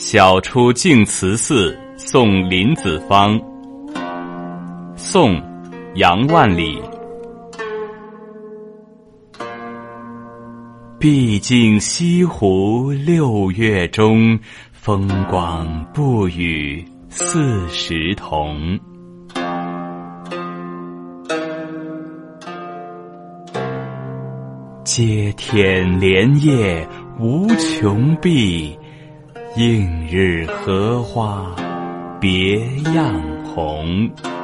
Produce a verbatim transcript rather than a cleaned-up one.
晓出净慈寺送林子方。宋，杨万里。毕竟西湖六月中，风光不与四时同。接天莲叶无穷碧，映日荷花别样红。